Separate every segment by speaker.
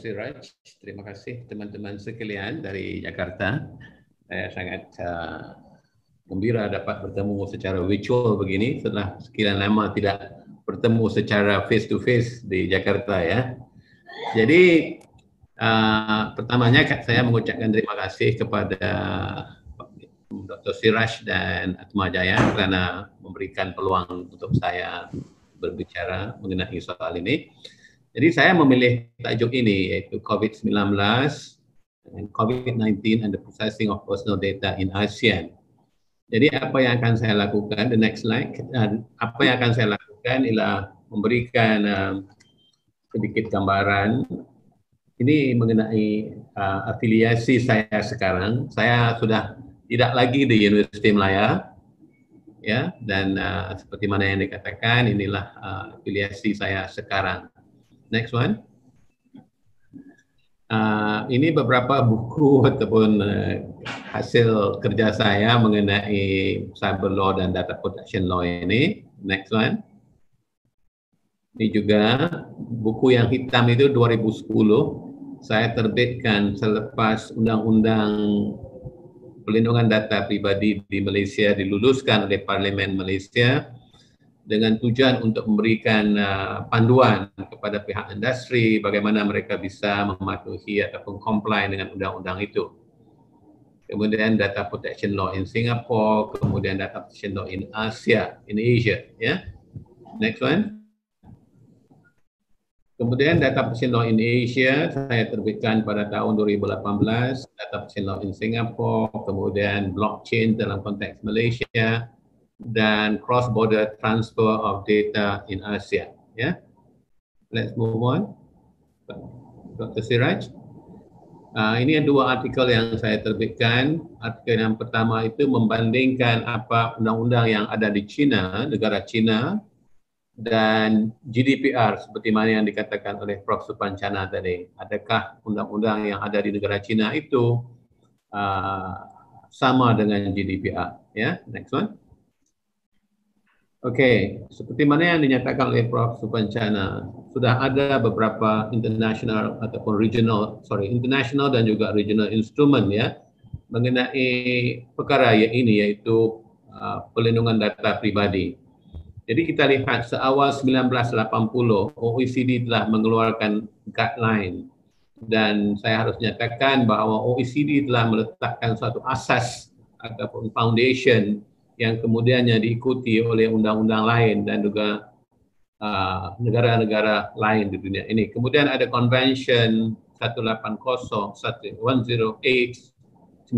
Speaker 1: Siraj. Terima kasih teman-teman sekalian dari Jakarta. Saya sangat gembira dapat bertemu secara virtual begini setelah sekian lama tidak bertemu secara face to face di Jakarta ya. Jadi pertamanya saya mengucapkan terima kasih kepada Dr. Siraj dan Atma Jaya kerana memberikan peluang untuk saya berbicara mengenai soal ini. Jadi saya memilih tajuk ini iaitu COVID-19 and COVID-19 and the processing of personal data in ASEAN. Jadi apa yang akan saya lakukan, the next slide, apa yang akan saya lakukan ialah memberikan sedikit gambaran ini mengenai afiliasi saya sekarang. Saya sudah tidak lagi di Universiti Malaya, ya, dan seperti mana yang dikatakan inilah afiliasi saya sekarang. Next one. Ini beberapa buku ataupun hasil kerja saya mengenai cyber law dan data protection law ini. Next one. Ini juga buku yang hitam itu 2010 saya terbitkan selepas undang-undang pelindungan data pribadi di Malaysia diluluskan oleh Parlimen Malaysia dengan tujuan untuk memberikan panduan kepada pihak industri bagaimana mereka bisa mematuhi ataupun comply dengan undang-undang itu. Kemudian data protection law in Singapore, kemudian data protection law in Asia, ya. Next one. Kemudian data protection law in Asia saya terbitkan pada tahun 2018, data protection law in Singapore, kemudian blockchain dalam konteks Malaysia, dan cross-border transfer of data in Asia. Ya, let's move on. Dr. Siraj, ini dua artikel yang saya terbitkan. Artikel yang pertama itu membandingkan apa undang-undang yang ada di China, negara China, dan GDPR seperti mana yang dikatakan oleh Prof. Supancana tadi. Adakah undang-undang yang ada di negara China itu sama dengan GDPR? Ya, next one. Okey, seperti mana yang dinyatakan oleh Prof. Supancana, sudah ada beberapa international ataupun international dan juga regional instrumen ya mengenai perkara ini iaitu pelindungan data pribadi. Jadi kita lihat seawal 1980 OECD telah mengeluarkan guideline dan saya harus nyatakan bahawa OECD telah meletakkan suatu asas ataupun foundation yang kemudiannya diikuti oleh undang-undang lain dan juga negara-negara lain di dunia ini. Kemudian ada Convention 180, 108, 1981,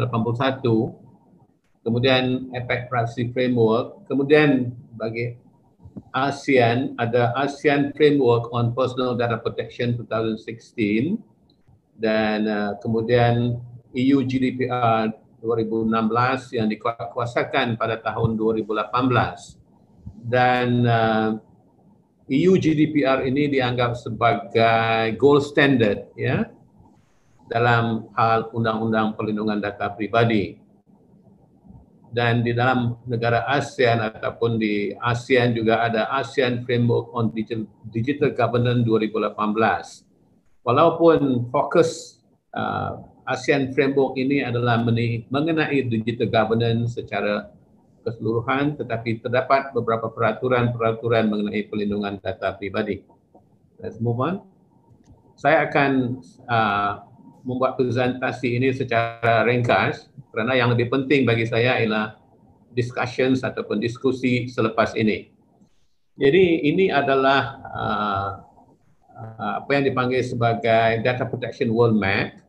Speaker 1: kemudian APEC Privacy Framework, kemudian bagi ASEAN ada ASEAN Framework on Personal Data Protection 2016 dan kemudian EU GDPR 2016 yang dikuasakan pada tahun 2018 dan EU GDPR ini dianggap sebagai gold standard ya dalam hal undang-undang perlindungan data pribadi. Dan di dalam negara ASEAN ataupun di ASEAN juga ada ASEAN Framework on Digital Governance 2018. Walaupun fokus ASEAN Framework ini adalah mengenai digital governance secara keseluruhan, tetapi terdapat beberapa peraturan-peraturan mengenai pelindungan data pribadi. Let's move on. Saya akan membuat presentasi ini secara ringkas kerana yang lebih penting bagi saya ialah discussions ataupun diskusi selepas ini. Jadi ini adalah apa yang dipanggil sebagai Data Protection World Map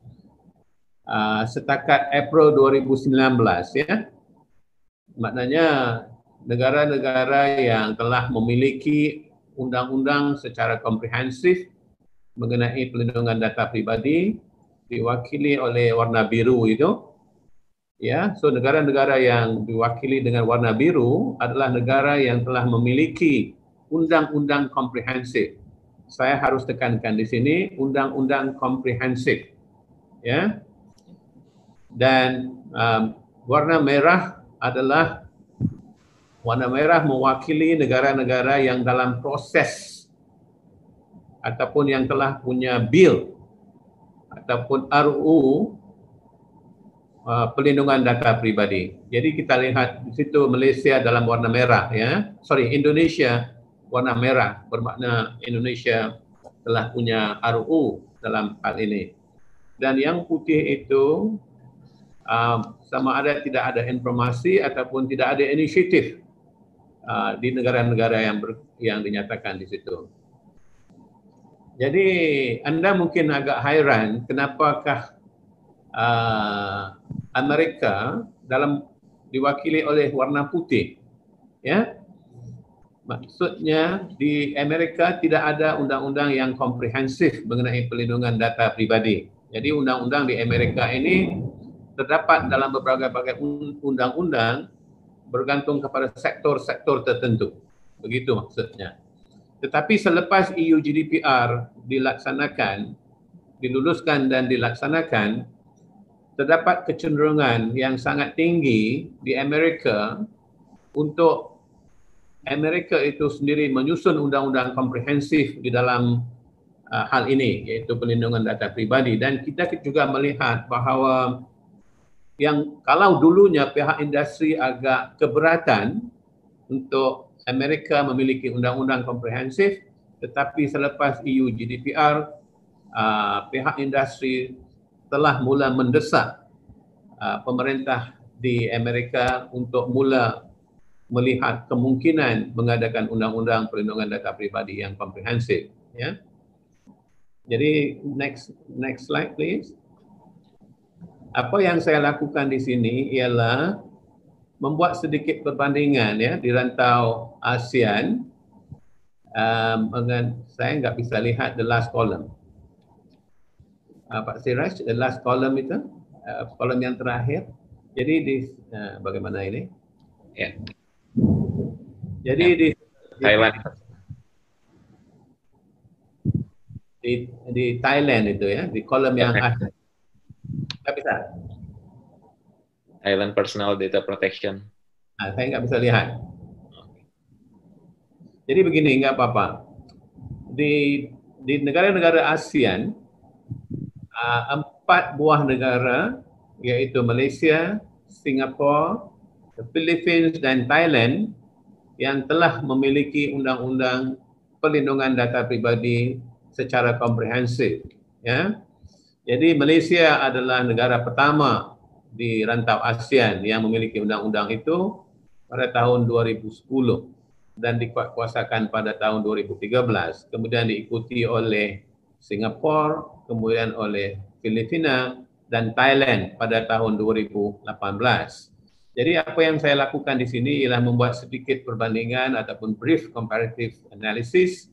Speaker 1: setakat April 2019 ya. Maknanya negara-negara yang telah memiliki undang-undang secara komprehensif mengenai pelindungan data pribadi diwakili oleh warna biru itu. Ya, so negara-negara yang diwakili dengan warna biru adalah negara yang telah memiliki undang-undang komprehensif. Saya harus tekankan di sini undang-undang komprehensif. Ya. Dan warna merah adalah warna merah mewakili negara-negara yang dalam proses ataupun yang telah punya bil ataupun RUU pelindungan data pribadi. Jadi kita lihat di situ Malaysia dalam warna merah, ya. Sorry, Indonesia warna merah, bermakna Indonesia telah punya RUU dalam hal ini. Dan yang putih itu sama ada tidak ada informasi ataupun tidak ada inisiatif di negara-negara yang dinyatakan di situ. Jadi anda mungkin agak hairan kenapakah Amerika diwakili oleh warna putih, ya. Maksudnya di Amerika tidak ada undang-undang yang komprehensif mengenai pelindungan data pribadi. Jadi undang-undang di Amerika ini terdapat dalam beberapa undang-undang bergantung kepada sektor-sektor tertentu. Begitu maksudnya. Tetapi selepas EU GDPR diluluskan dan dilaksanakan, terdapat kecenderungan yang sangat tinggi di Amerika untuk Amerika itu sendiri menyusun undang-undang komprehensif di dalam hal ini, yaitu pelindungan data pribadi. Dan kita juga melihat bahawa yang kalau dulunya pihak industri agak keberatan untuk Amerika memiliki undang-undang komprehensif, tetapi selepas EU GDPR, pihak industri telah mula mendesak pemerintah di Amerika untuk mula melihat kemungkinan mengadakan undang-undang perlindungan data pribadi yang komprehensif, ya. Jadi next slide please. Apa yang saya lakukan di sini ialah membuat sedikit perbandingan, ya, di rantau ASEAN. Saya nggak bisa lihat the last column. Pak Siraj, the last column itu, kolom yang terakhir. Jadi di bagaimana ini? Ya. Jadi ya. Di Thailand itu, ya, di kolom yang akhir. Nggak bisa.
Speaker 2: Thailand Personal Data Protection.
Speaker 1: Saya nggak bisa lihat. Jadi begini, nggak apa-apa. Di negara-negara ASEAN, 4 buah negara, yaitu Malaysia, Singapura, Philippines, dan Thailand yang telah memiliki undang-undang perlindungan data pribadi secara komprehensif, ya. Jadi Malaysia adalah negara pertama di rantau ASEAN yang memiliki undang-undang itu pada tahun 2010 dan dikuasakan pada tahun 2013. Kemudian diikuti oleh Singapura, kemudian oleh Filipina dan Thailand pada tahun 2018. Jadi apa yang saya lakukan di sini ialah membuat sedikit perbandingan ataupun brief comparative analysis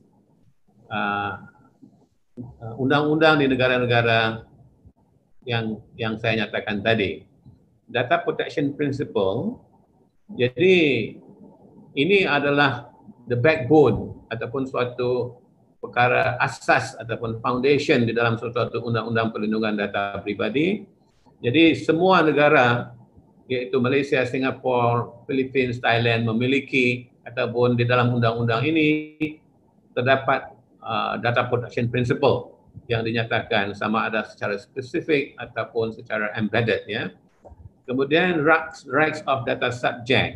Speaker 1: undang-undang di negara-negara yang saya nyatakan tadi. Data Protection Principle, jadi ini adalah the backbone ataupun suatu perkara asas ataupun foundation di dalam suatu undang-undang perlindungan data pribadi. Jadi semua negara, yaitu Malaysia, Singapura, Philippines, Thailand memiliki ataupun di dalam undang-undang ini terdapat Data Protection Principle yang dinyatakan sama ada secara spesifik ataupun secara embedded, ya. Kemudian rights of data subject,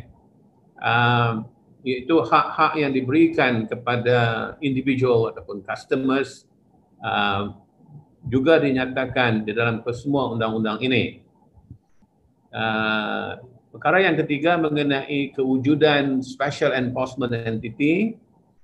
Speaker 1: yaitu hak-hak yang diberikan kepada individual ataupun customers, juga dinyatakan di dalam kesemua undang-undang ini. Perkara yang ketiga mengenai kewujudan Special Enforcement Entity.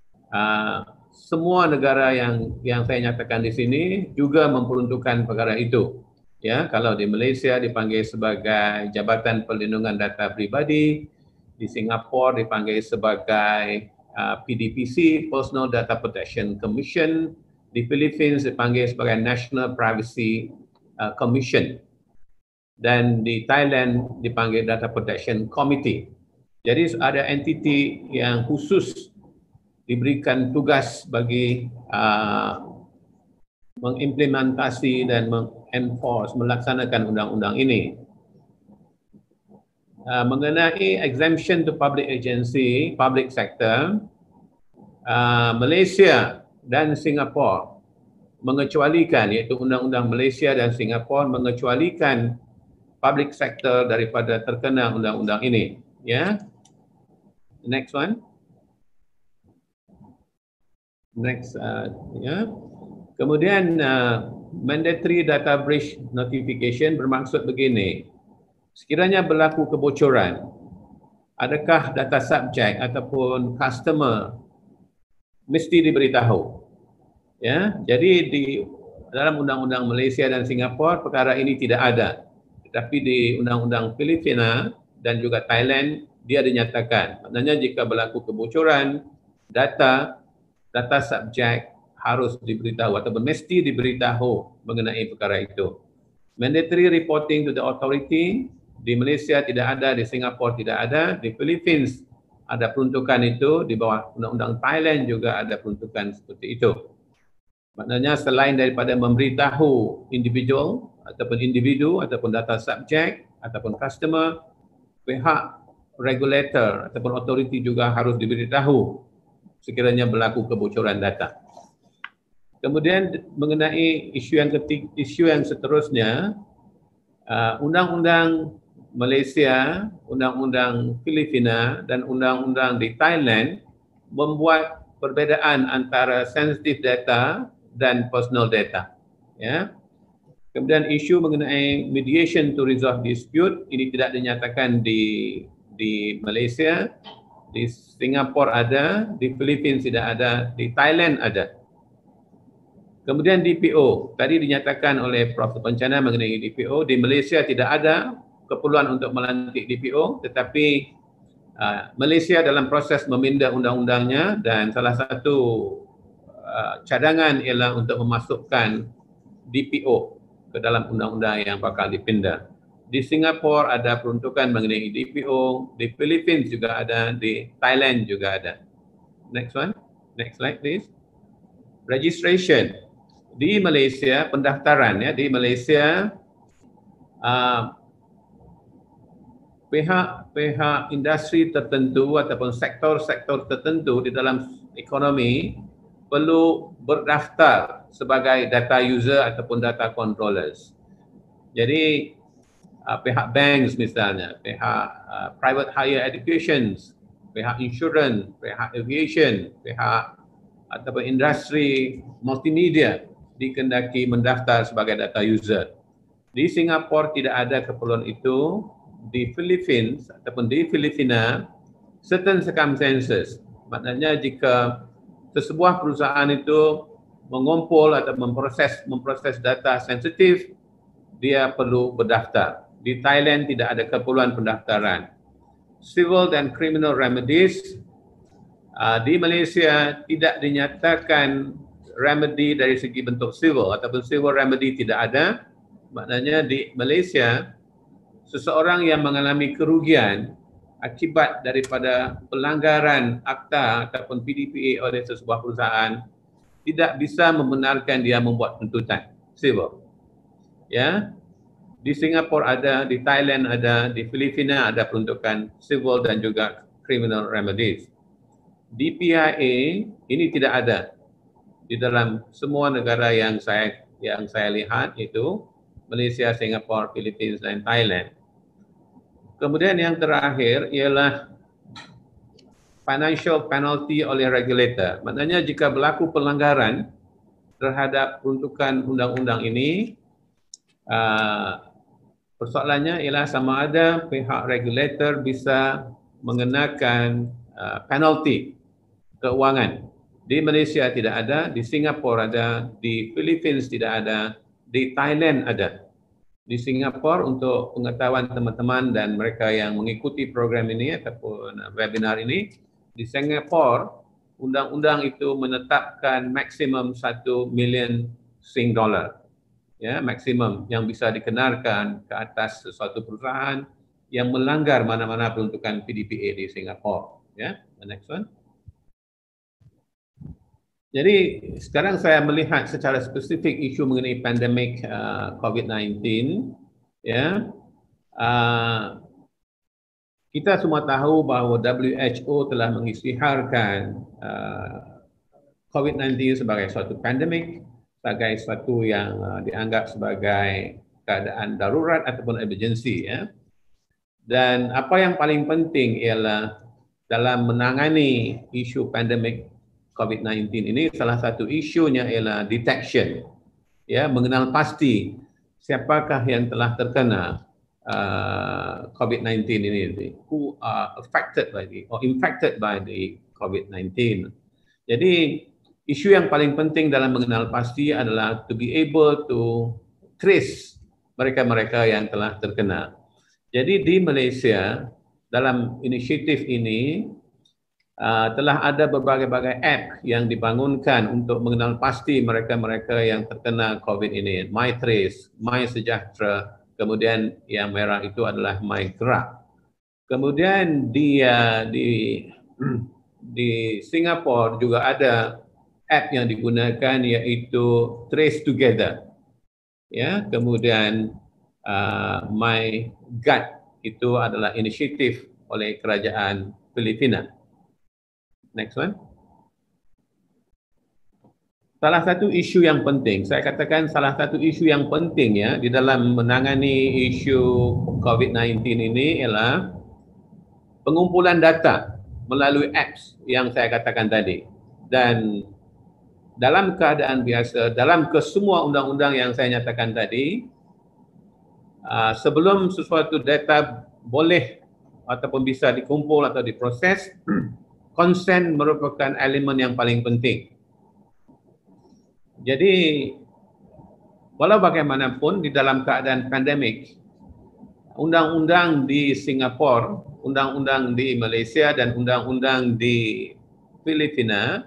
Speaker 1: Semua negara yang saya nyatakan di sini juga memperuntukkan perkara itu. Ya, kalau di Malaysia dipanggil sebagai Jabatan Perlindungan Data Pribadi, di Singapura dipanggil sebagai PDPC, Personal Data Protection Commission, di Philippines dipanggil sebagai National Privacy Commission, dan di Thailand dipanggil Data Protection Committee. Jadi ada entiti yang khusus diberikan tugas bagi mengimplementasi dan melaksanakan undang-undang ini. Mengenai exemption to public agency, public sector, Malaysia dan Singapura mengecualikan, iaitu Undang-Undang Malaysia dan Singapura mengecualikan public sector daripada terkena undang-undang ini. Ya, next one. Next, ya. Kemudian mandatory data breach notification bermaksud begini. Sekiranya berlaku kebocoran, adakah data subjek ataupun customer mesti diberitahu? Ya, jadi di dalam Undang-Undang Malaysia dan Singapura perkara ini tidak ada. Tetapi di Undang-Undang Filipina dan juga Thailand dia dinyatakan. Maknanya jika berlaku kebocoran data subjek harus diberitahu atau mesti diberitahu mengenai perkara itu. Mandatory reporting to the authority di Malaysia tidak ada, di Singapura tidak ada, di Philippines ada peruntukan itu, di bawah Undang-Undang Thailand juga ada peruntukan seperti itu. Maknanya selain daripada memberitahu individu ataupun data subjek ataupun customer, pihak regulator ataupun authority juga harus diberitahu sekiranya berlaku kebocoran data. Kemudian mengenai isu yang seterusnya, Undang-Undang Malaysia, Undang-Undang Filipina dan Undang-Undang di Thailand membuat perbezaan antara sensitive data dan personal data. Ya. Kemudian isu mengenai mediation to resolve dispute ini tidak dinyatakan di Malaysia, di Singapura ada, di Philippines tidak ada, di Thailand ada. Kemudian DPO, tadi dinyatakan oleh Prof. Pencana mengenai DPO, di Malaysia tidak ada keperluan untuk melantik DPO, tetapi Malaysia dalam proses meminda undang-undangnya dan salah satu cadangan ialah untuk memasukkan DPO ke dalam undang-undang yang bakal dipindah. Di Singapura ada peruntukan mengenai DPO, di Philippines juga ada, di Thailand juga ada. Next one, next slide please. Registration. Di Malaysia, pendaftaran ya, di Malaysia pihak industri tertentu ataupun sektor-sektor tertentu di dalam ekonomi perlu berdaftar sebagai data user ataupun data controllers. Jadi pihak banks misalnya, pihak private higher education, pihak insurance, pihak aviation, pihak ataupun industri multimedia dikehendaki mendaftar sebagai data user. Di Singapura tidak ada keperluan itu. Di Philippines ataupun di Filipina, certain circumstances, maknanya jika sesebuah perusahaan itu mengumpul atau memproses data sensitif, dia perlu berdaftar. Di Thailand tidak ada keperluan pendaftaran. Civil dan criminal remedies, di Malaysia tidak dinyatakan remedy dari segi bentuk civil ataupun civil remedy tidak ada. Maknanya di Malaysia, seseorang yang mengalami kerugian akibat daripada pelanggaran akta ataupun PDPA oleh sesebuah perusahaan tidak bisa membenarkan dia membuat tuntutan civil. Ya. Di Singapura ada, di Thailand ada, di Filipina ada peruntukan civil dan juga criminal remedies. Di PIA ini tidak ada di dalam semua negara yang saya lihat itu Malaysia, Singapura, Philippines dan Thailand. Kemudian yang terakhir ialah financial penalty oleh regulator. Maknanya jika berlaku pelanggaran terhadap peruntukan undang-undang ini, persoalannya ialah sama ada pihak regulator bisa mengenakan penalty keuangan. Di Malaysia tidak ada, di Singapura ada, di Philippines tidak ada, di Thailand ada. Di Singapura, untuk pengetahuan teman-teman dan mereka yang mengikuti program ini ataupun webinar ini, di Singapura undang-undang itu menetapkan maksimum 1 million Sing dollar. Ya, maksimum yang bisa dikenakan ke atas sesuatu perusahaan yang melanggar mana-mana peruntukan PDPA di Singapura. Ya, the next one. Jadi sekarang saya melihat secara spesifik isu mengenai pandemik COVID-19. Ya, kita semua tahu bahawa WHO telah mengisytiharkan COVID-19 sebagai suatu pandemik, sebagai suatu yang dianggap sebagai keadaan darurat ataupun emergency, ya. Dan apa yang paling penting ialah dalam menangani isu pandemik COVID-19 ini, salah satu isunya ialah detection, ya, mengenal pasti siapakah yang telah terkena COVID-19 ini, who are affected by the or infected by the COVID-19. Jadi isu yang paling penting dalam mengenal pasti adalah to be able to trace mereka-mereka yang telah terkena. Jadi di Malaysia dalam inisiatif ini telah ada berbagai-bagai app yang dibangunkan untuk mengenal pasti mereka-mereka yang terkena COVID ini. MyTrace, MySejahtera, kemudian yang merah itu adalah MyGerak. Kemudian di Singapura juga ada app yang digunakan yaitu Trace Together. Ya, kemudian MyGuard itu adalah inisiatif oleh kerajaan Filipina. Next one. Salah satu isu yang penting, saya katakan salah satu isu yang penting ya di dalam menangani isu COVID-19 ini ialah pengumpulan data melalui apps yang saya katakan tadi. Dan dalam keadaan biasa, dalam kesemua undang-undang yang saya nyatakan tadi, sebelum sesuatu data boleh ataupun bisa dikumpul atau diproses, consent merupakan elemen yang paling penting. Jadi, walau bagaimanapun di dalam keadaan pandemik, undang-undang di Singapura, undang-undang di Malaysia dan undang-undang di Filipina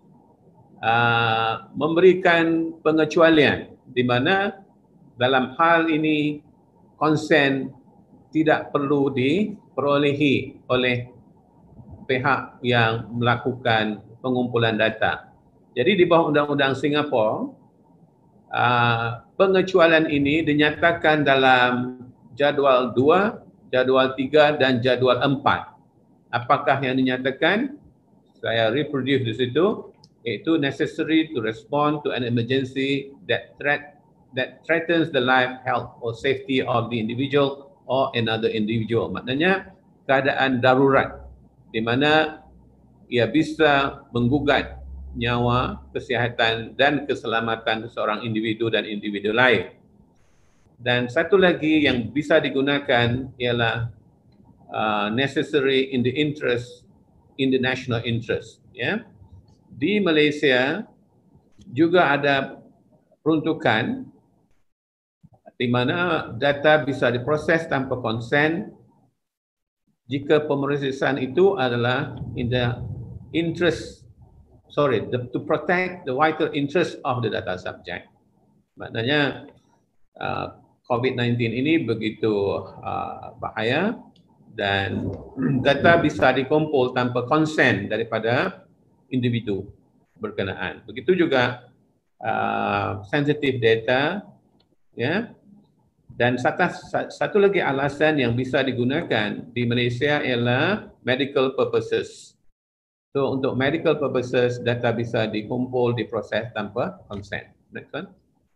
Speaker 1: memberikan pengecualian di mana dalam hal ini konsen tidak perlu diperolehi oleh pihak yang melakukan pengumpulan data. Jadi di bawah undang-undang Singapura, pengecualian ini dinyatakan dalam jadual 2, jadual 3 dan jadual 4. Apakah yang dinyatakan? Saya reproduce di situ, yaitu necessary to respond to an emergency that threatens the life, health or safety of the individual or another individual. Maknanya keadaan darurat di mana ia bisa menggugat nyawa, kesihatan dan keselamatan seorang individu dan individu lain. Dan satu lagi yang bisa digunakan ialah necessary in the interest, in the national interest. Ya. Di Malaysia juga ada peruntukan di mana data bisa diproses tanpa konsen jika pemrosesan itu adalah in the interest, to protect the vital interest of the data subject. Maknanya COVID-19 ini begitu bahaya dan data bisa dikumpul tanpa konsen daripada individu berkenaan. Begitu juga sensitive data, ya. Dan satu lagi alasan yang bisa digunakan di Malaysia ialah medical purposes. So untuk medical purposes, data bisa dikumpul, diproses tanpa consent. Next one.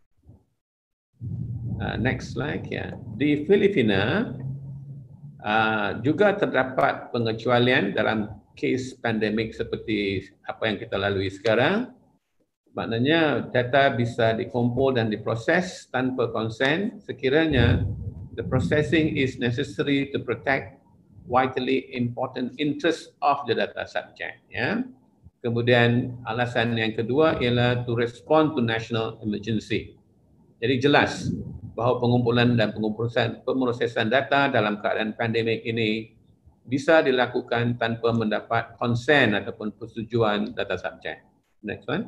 Speaker 1: Next slide. Ya. Di Filipina juga terdapat pengecualian dalam kes pandemik seperti apa yang kita lalui sekarang. Maknanya data bisa dikumpul dan diproses tanpa konsen sekiranya the processing is necessary to protect vitally important interest of the data subject. Ya. Kemudian alasan yang kedua ialah to respond to national emergency. Jadi jelas bahawa pengumpulan dan pemrosesan data dalam keadaan pandemik ini bisa dilakukan tanpa mendapat konsen ataupun persetujuan data subject. Next one.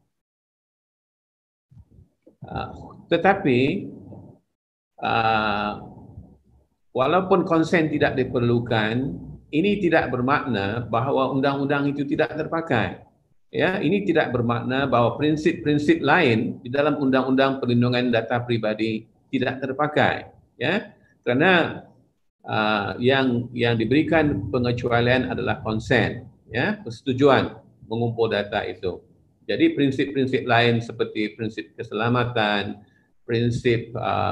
Speaker 1: Tetapi walaupun konsen tidak diperlukan, ini tidak bermakna bahawa undang-undang itu tidak terpakai. Ya, ini tidak bermakna bahawa prinsip-prinsip lain di dalam undang-undang perlindungan data pribadi tidak terpakai. Ya, kerana yang diberikan pengecualian adalah konsen, ya, persetujuan mengumpul data itu. Jadi prinsip-prinsip lain seperti prinsip keselamatan, prinsip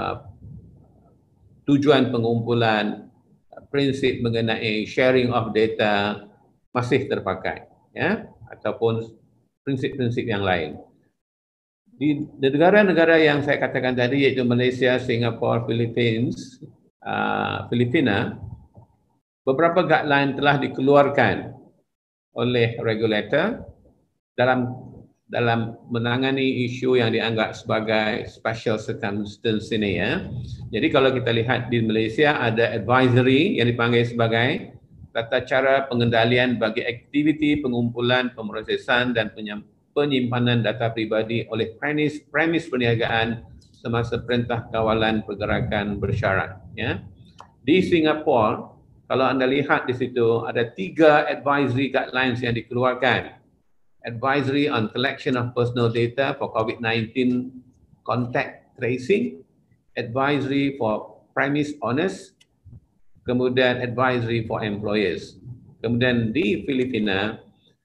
Speaker 1: tujuan pengumpulan, prinsip mengenai sharing of data masih terpakai, ya, ataupun prinsip-prinsip yang lain. Di negara-negara yang saya katakan tadi, iaitu Malaysia, Singapura, Filipina, beberapa guideline telah dikeluarkan oleh regulator dalam menangani isu yang dianggap sebagai special circumstance ini, ya. Jadi kalau kita lihat di Malaysia ada advisory yang dipanggil sebagai tata cara pengendalian bagi aktiviti pengumpulan, pemrosesan dan penyimpanan data pribadi oleh premis perniagaan semasa Perintah Kawalan Pergerakan Bersyarat, ya. Di Singapura, kalau anda lihat di situ ada 3 advisory guidelines yang dikeluarkan. Advisory on collection of personal data for COVID-19 contact tracing, advisory for premise owners, kemudian advisory for employers. Kemudian di Filipina,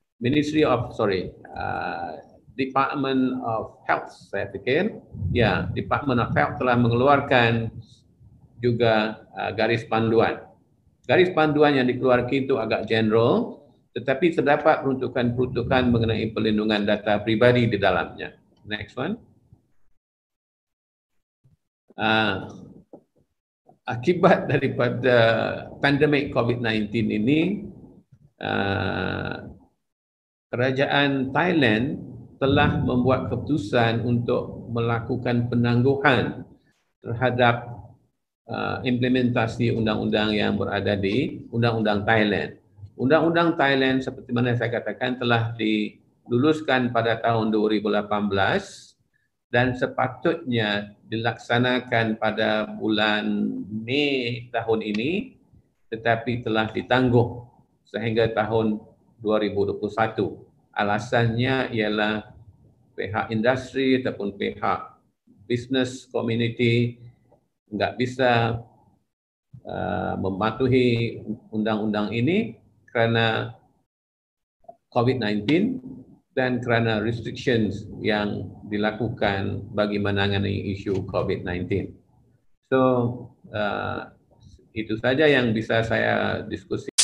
Speaker 1: Department of Health, saya fikir, ya, Department of Health telah mengeluarkan juga garis panduan. Garis panduan yang dikeluarkan itu agak general, tetapi terdapat peruntukan-peruntukan mengenai perlindungan data pribadi di dalamnya. Next one. Akibat daripada pandemik COVID-19 ini, kerajaan Thailand telah membuat keputusan untuk melakukan penangguhan terhadap implementasi undang-undang yang berada di Undang-Undang Thailand. Undang-Undang Thailand seperti mana saya katakan telah diluluskan pada tahun 2018 dan sepatutnya dilaksanakan pada bulan Mei tahun ini, tetapi telah ditangguh sehingga tahun 2021. Alasannya ialah pihak industri ataupun pihak business community enggak bisa mematuhi undang-undang ini kerana COVID-19 dan kerana restrictions yang dilakukan bagi menangani isu COVID-19. So, itu saja yang bisa saya diskusi.